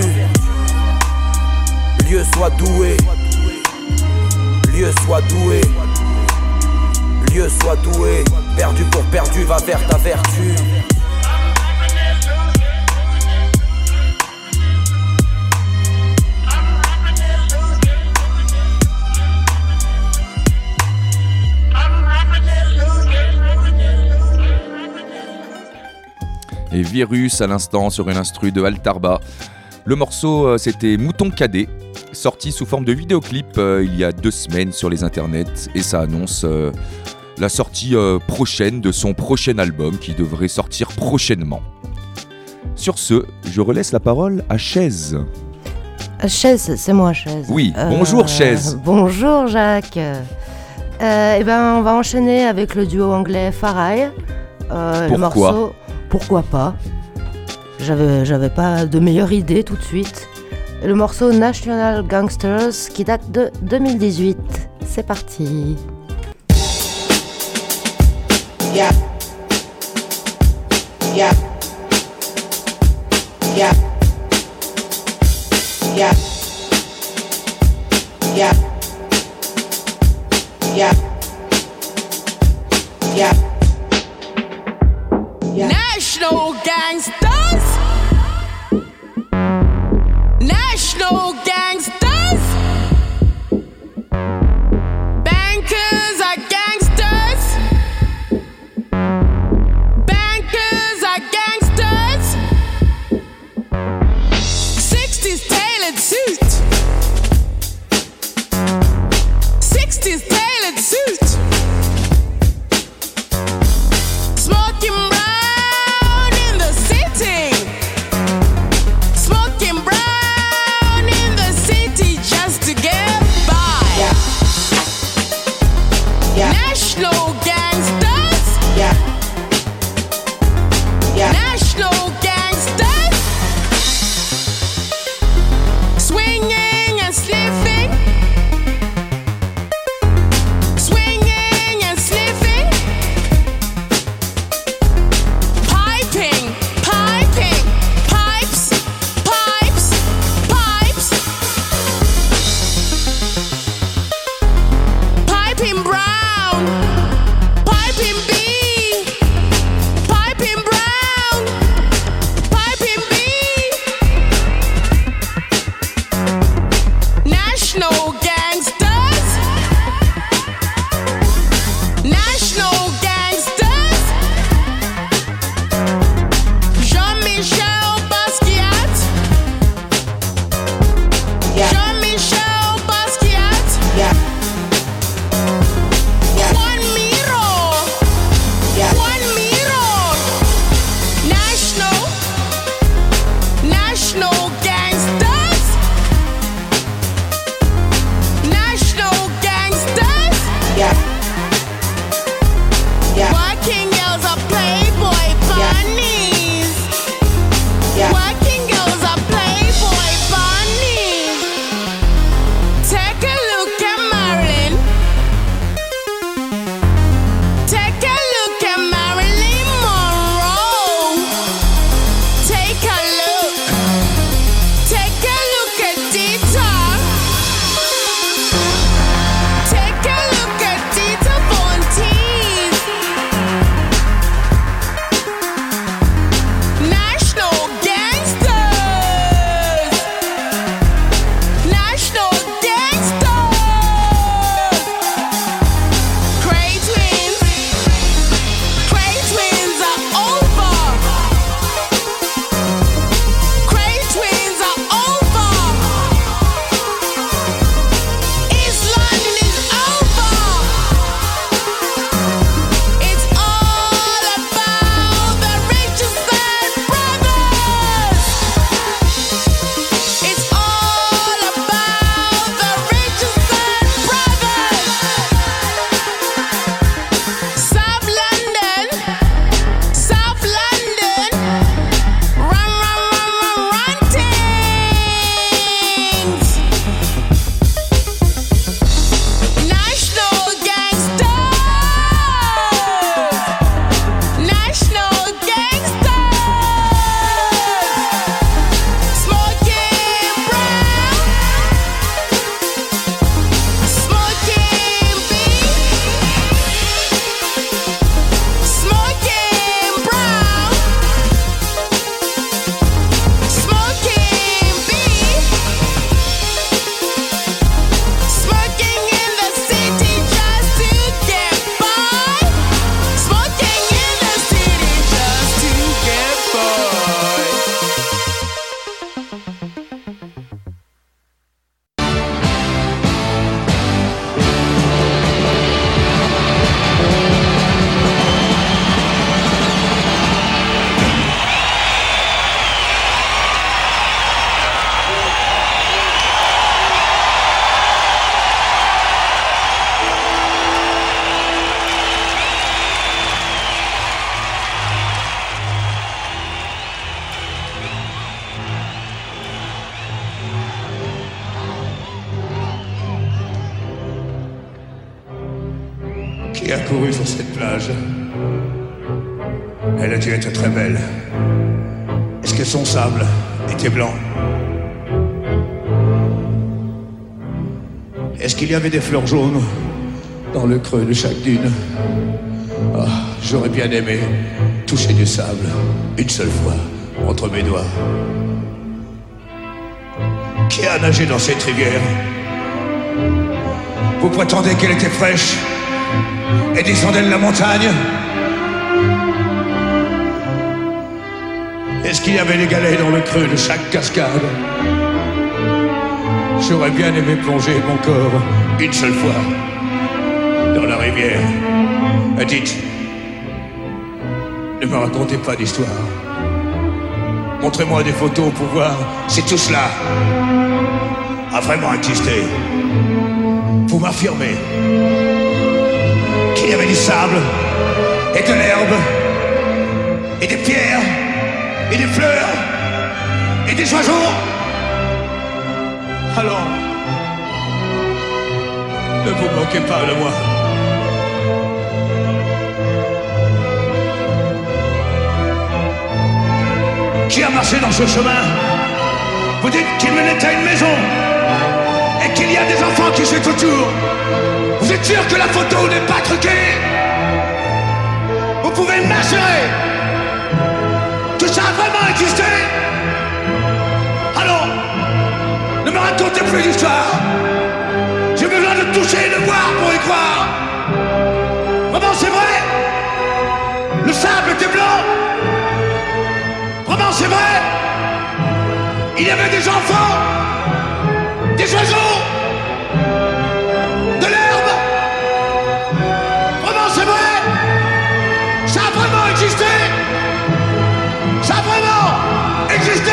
Lieu soit doué, lieu soit doué, lieu soit doué. Perdu pour perdu, va vers ta vertu. Et Virus à l'instant sur une instru de Altarba. Le morceau euh, c'était Mouton Cadet, sorti sous forme de vidéoclip euh, il y a deux semaines sur les internets, et ça annonce euh, la sortie euh, prochaine de son prochain album qui devrait sortir prochainement. Sur ce, je relaisse la parole à Chaise. Chaise, c'est moi Chaise. Oui, bonjour euh, Chaise. Bonjour Jacques. Euh, et ben on va enchaîner avec le duo anglais Farai. Euh, Pourquoi le morceau, pourquoi pas? J'avais, j'avais pas de meilleure idée tout de suite. Le morceau National Gangsters qui date de deux mille dix-huit. C'est parti. Yeah. Yeah. Yeah. Yeah. Yeah. Yeah. Yeah. Yeah. National gangsters. National gangsters. Bankers are gangsters. Bankers are gangsters. sixties tailored suit. sixties tailored suit. Smoking brown in the city. Smoking brown in the city just to get by. Yeah. Yeah. National gangsters. Yeah. Yeah. National gangsters. Swinging and sniffing. Qui a couru sur cette plage? Elle a dû être très belle. Est-ce que son sable était blanc? Est-ce qu'il y avait des fleurs jaunes dans le creux de chaque dune? Ah, j'aurais bien aimé toucher du sable une seule fois entre mes doigts. Qui a nagé dans cette rivière? Vous prétendez qu'elle était fraîche et descendait de la montagne? Est-ce qu'il y avait des galets dans le creux de chaque cascade? J'aurais bien aimé plonger mon corps une seule fois dans la rivière. Dites, ne me racontez pas d'histoire. Montrez-moi des photos pour voir si tout cela a vraiment existé. Vous m'affirmez qu'il y avait du sable et de l'herbe et des pierres et des fleurs et des oiseaux. Alors, ne vous moquez pas de moi. Qui a marché dans ce chemin? Vous dites qu'il menait à une maison et qu'il y a des enfants qui sont autour. Vous êtes sûr que la photo n'est pas truquée? Vous pouvez m'assurer que ça a vraiment existé? Alors, ne me racontez plus d'histoire. J'ai besoin de toucher et de voir pour y croire. Vraiment, c'est vrai? Le sable était blanc? Vraiment, c'est vrai? Il y avait des enfants, des oiseaux, de l'herbe. Vraiment, c'est vrai? Ça a vraiment existé? Ça a vraiment existé?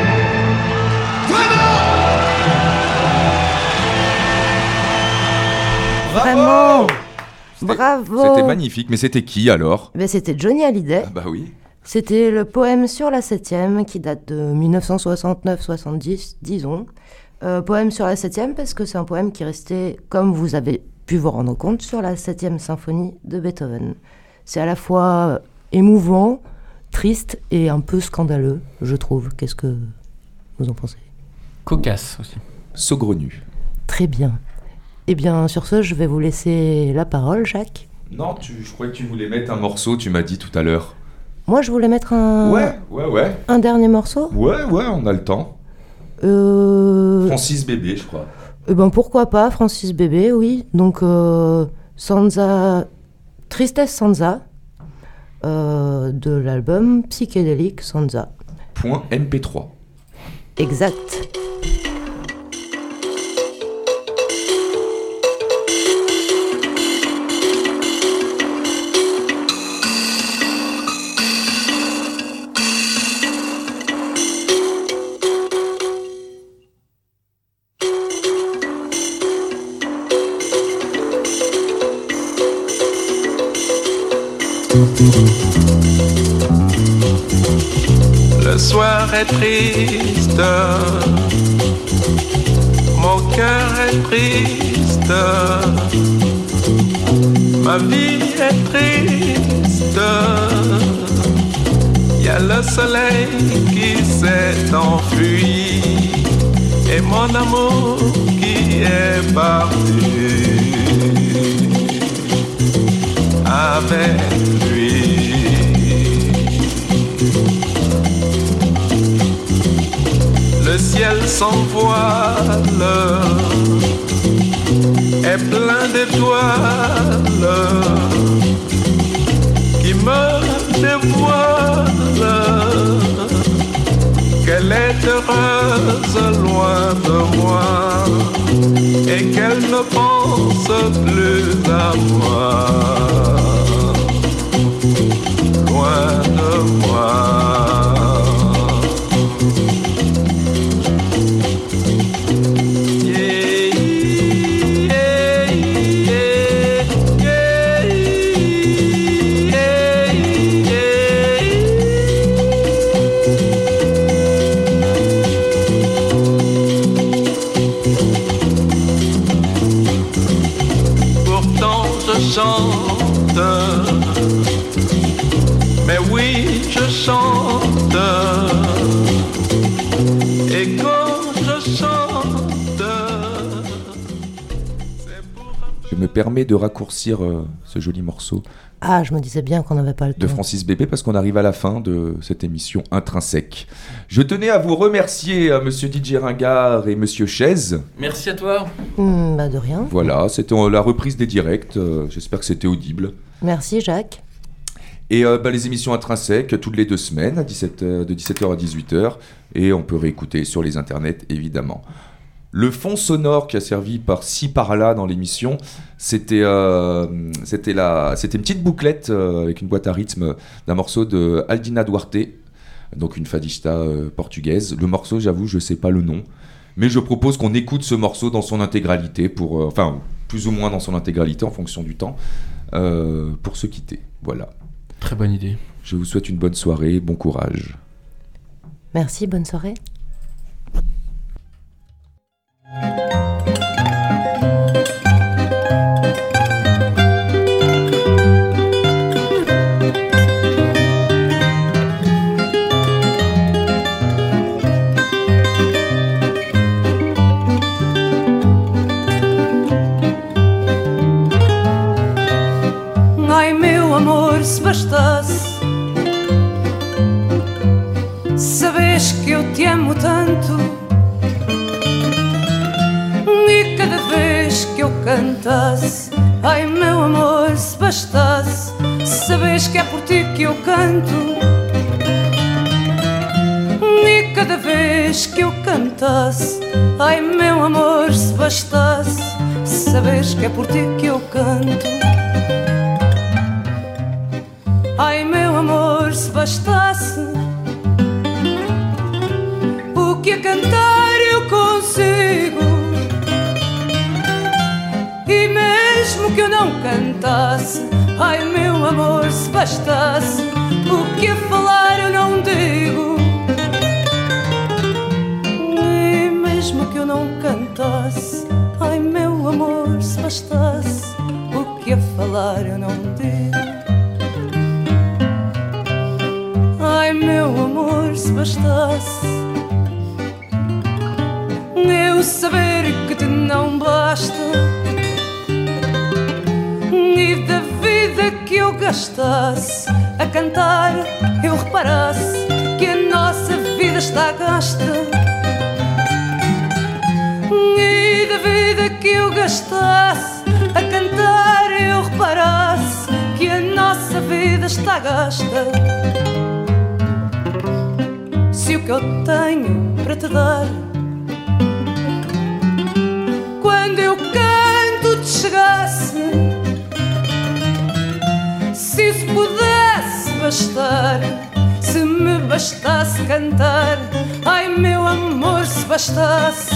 Vraiment. Bravo. C'était magnifique, mais c'était qui alors? Ben, c'était Johnny Hallyday. Ah bah oui. C'était le poème Sur la septième qui date de dix-neuf cent soixante-neuf soixante-dix, disons. Euh, poème sur la septième parce que c'est un poème qui restait, comme vous avez pu vous rendre compte, sur la septième symphonie de Beethoven. C'est à la fois émouvant, triste et un peu scandaleux, je trouve. Qu'est-ce que vous en pensez? Cocasse aussi. Saugrenu. Très bien. Eh bien, sur ce, je vais vous laisser la parole, Jacques. Non, tu, je croyais que tu voulais mettre un morceau, tu m'as dit tout à l'heure. Moi, je voulais mettre un... Ouais, ouais, ouais. Un dernier morceau. Ouais, ouais, on a le temps. Euh... Francis Bébé, je crois. Eh ben, pourquoi pas, Francis Bébé, oui. Donc, euh, Sansa... Tristesse Sansa, euh, de l'album Psychédélique Sansa. Point M P trois. Exact. Le soir est triste, mon cœur est triste, ma vie est triste. Y a le soleil qui s'est enfui et mon amour qui est parti avec lui. Le ciel sans voile est plein d'étoiles qui me dévoilent qu'elle est heureuse loin de moi et qu'elle ne pense plus à moi, loin de moi. chante. Mais oui, je chante. Et quand je chante, je me permets de raccourcir euh, ce joli morceau. Ah, je me disais bien qu'on n'avait pas le temps. De Francis Bébé, parce qu'on arrive à la fin de cette émission Intrinsèque. Je tenais à vous remercier, euh, monsieur D J Ringard et monsieur Chaise. Merci à toi. Mmh, bah de rien. Voilà, c'était euh, la reprise des directs. Euh, j'espère que c'était audible. Merci, Jacques. Et euh, bah, les émissions Intrinsèques, toutes les deux semaines, à dix-sept heures, de dix-sept heures à dix-huit heures. Et on peut réécouter sur les internets, évidemment. Le fond sonore qui a servi par-ci par-là dans l'émission, c'était, euh, c'était, la, c'était une petite bouclette euh, avec une boîte à rythme d'un morceau de Aldina Duarte, donc une fadista euh, portugaise. Le morceau, j'avoue, je ne sais pas le nom, mais je propose qu'on écoute ce morceau dans son intégralité, pour, euh, enfin plus ou moins dans son intégralité en fonction du temps, euh, pour se quitter. Voilà. Très bonne idée. Je vous souhaite une bonne soirée, bon courage. Merci, bonne soirée. Ai meu amor, se bastasse sabes que eu te amo tanto, e cada vez que eu cantasse, ai meu amor, se bastasse sabes que é por ti que eu canto, e cada vez que eu cantasse, ai meu amor, se bastasse sabes que é por ti que eu canto. Ai meu amor, se bastasse o que a cantar eu consigo, e mesmo que eu não cantasse, ai meu amor, se bastasse o que a falar eu não digo, e mesmo que eu não cantasse, ai meu amor, se bastasse o que a falar eu não digo. Ai meu amor, se bastasse eu saber que te não basta, e da vida que eu gastasse a cantar eu reparasse que a nossa vida está gasta, e da vida que eu gastasse a cantar eu reparasse que a nossa vida está gasta. Se o que eu tenho para te dar, quando eu canto te chegasse, se isso pudesse bastar, se me bastasse cantar, ai meu amor, se bastasse,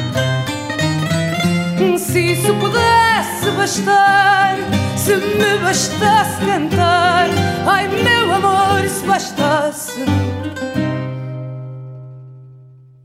se isso pudesse bastar, se me bastasse cantar, ai meu amor, se bastasse.